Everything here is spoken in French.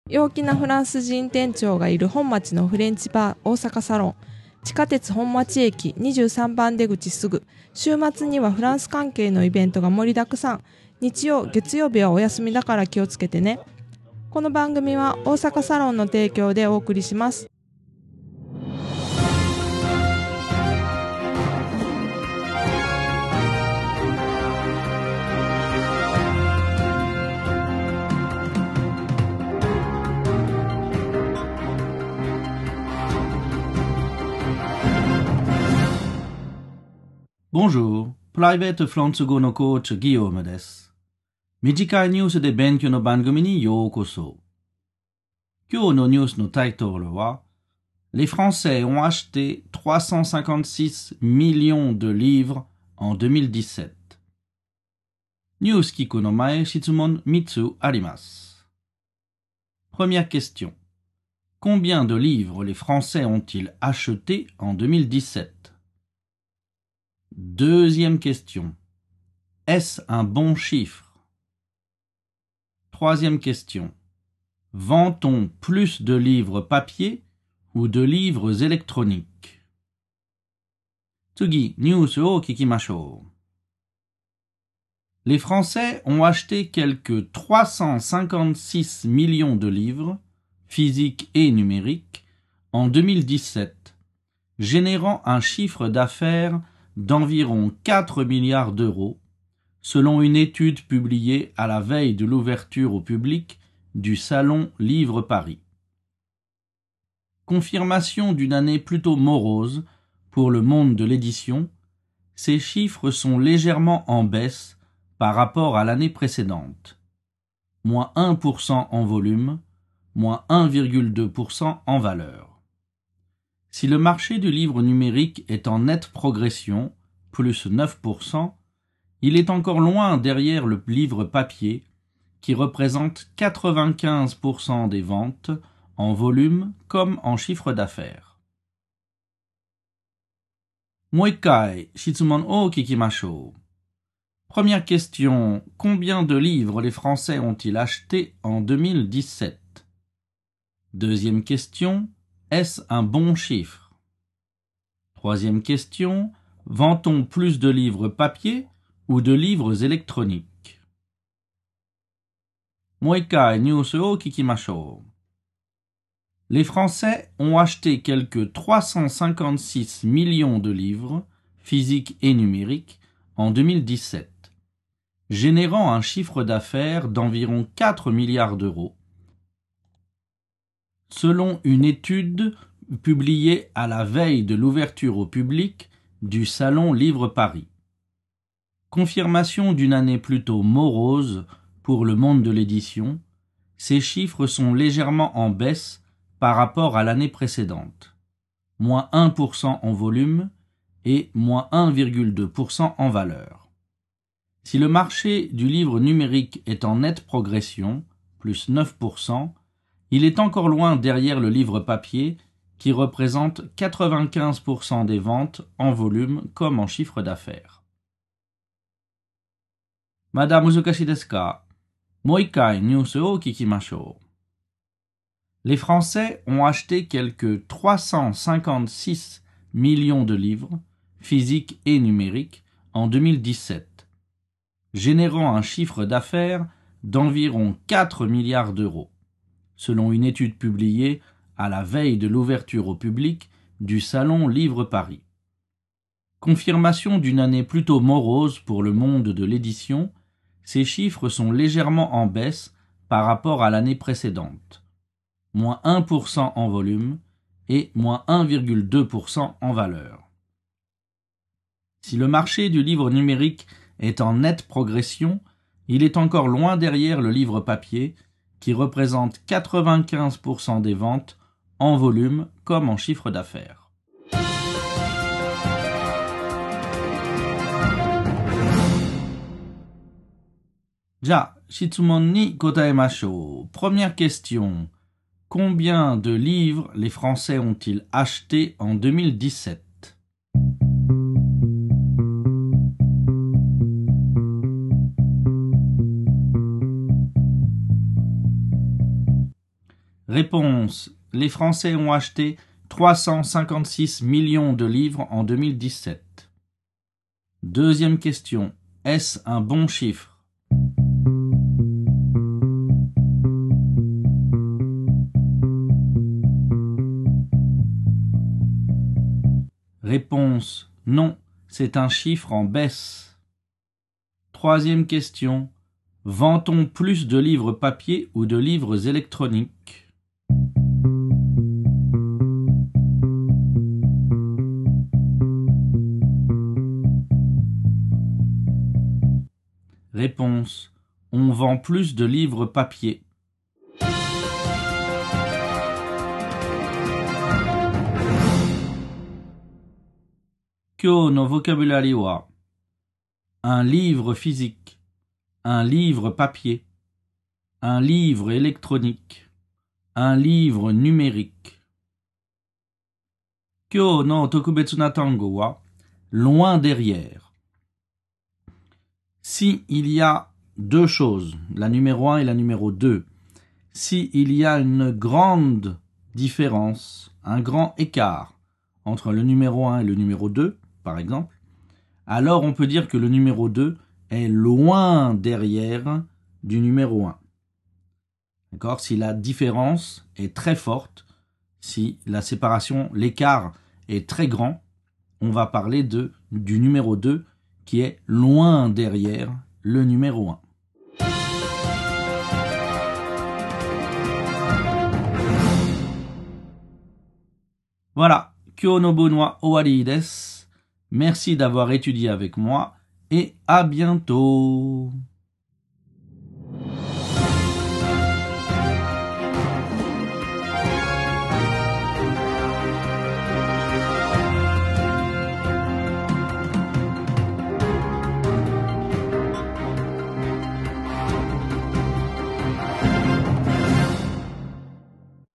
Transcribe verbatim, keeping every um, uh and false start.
陽気なフランス人店長がいる本町のフレンチバー大阪サロン。地下鉄本町駅にじゅうさんばん出口すぐ。週末にはフランス関係のイベントが盛りだくさん。日曜、月曜日はお休みだから気をつけてね。この番組は大阪サロンの提供でお送りします。 Bonjour, Private フランス語のコーチギヨームです。短いニュースで勉強の番組にようこそ。今日のニュースのタイトルは Les Français ont acheté trois cent cinquante-six millions de livres en deux mille dix-sept。ニュース聞くの前、質問みっつあります。Première question. Combien de livres les Français ont-ils acheté en deux mille dix-sept？Deuxième question. Est-ce un bon chiffre? Troisième question. Vend-on plus de livres papier ou de livres électroniques? 次、ニュースを聞きましょう。Les Français ont acheté quelques trois cent cinquante-six millions de livres, physiques et numériques, en deux mille dix-sept, générant un chiffre d'affaires d'environ quatre milliards d'euros, selon une étude publiée à la veille de l'ouverture au public du Salon Livre Paris. Confirmation d'une année plutôt morose pour le monde de l'édition, ces chiffres sont légèrement en baisse par rapport à l'année précédente. moins un pour cent en volume, moins un virgule deux pour cent en valeur. Si le marché du livre numérique est en nette progression, plus neuf pour cent, il est encore loin derrière le livre papier, qui représente quatre-vingt-quinze pour cent des ventes, en volume comme en chiffre d'affaires. もう一回、質問を聞きましょう。Première question, combien de livres les Français ont-ils acheté en deux mille dix-sept? Deuxième question, est-ce un bon chiffre? Troisième question, vend-on plus de livres papier ou de livres électroniques? もう一回ニュースを聞きましょう。Les Français ont acheté quelques trois cent cinquante-six millions de livres, physiques et numériques, en deux mille dix-sept, générant un chiffre d'affaires d'environ quatre milliards d'euros, selon une étude publiée à la veille de l'ouverture au public du Salon Livre Paris. Confirmation d'une année plutôt morose pour le monde de l'édition, ces chiffres sont légèrement en baisse par rapport à l'année précédente, moins un pour cent en volume et moins un virgule deux pour cent en valeur. Si le marché du livre numérique est en nette progression, plus neuf pour cent, il est encore loin derrière le livre papier qui représente quatre-vingt-quinze pour cent des ventes en volume comme en chiffre d'affaires. Madame muzukashi desu ka? Mou ikai news o kikimashou. Les Français ont acheté quelques trois cent cinquante-six millions de livres, physiques et numériques, en deux mille dix-sept, générant un chiffre d'affaires d'environ quatre milliards d'euros, selon une étude publiée à la veille de l'ouverture au public du Salon Livre Paris. Confirmation d'une année plutôt morose pour le monde de l'édition, ces chiffres sont légèrement en baisse par rapport à l'année précédente, moins un pour cent en volume et moins un virgule deux pour cent en valeur. Si le marché du livre numérique est en nette progression, il est encore loin derrière le livre papier, qui représente quatre-vingt-quinze pour cent des ventes en volume comme en chiffre d'affaires. じゃあ、質問に答えましょう。Première question. Combien de livres les Français ont-ils acheté en deux mille dix-sept? Réponse. Les Français ont acheté trois cent cinquante-six millions de livres en deux mille dix-sept. Deuxième question. Est-ce un bon chiffre? Réponse. Non, c'est un chiffre en baisse. Troisième question. Vend-on plus de livres papier ou de livres électroniques? Réponse. On vend plus de livres papier. Kyo no vocabulary wa un livre physique, un livre papier, un livre électronique, un livre numérique. Kyo no tokubetsu na tango wa loin derrière. Si il y a deux choses, la numéro un et la numéro deux, si il y a une grande différence, un grand écart entre le numéro un et le numéro deux, par exemple, alors on peut dire que le numéro deux est loin derrière du numéro un. D'accord? Si la différence est très forte, si la séparation, l'écart est très grand, on va parler de, du numéro deux qui est loin derrière le numéro un. Voilà, Kyo no bon wa owari desu. Merci d'avoir étudié avec moi et à bientôt.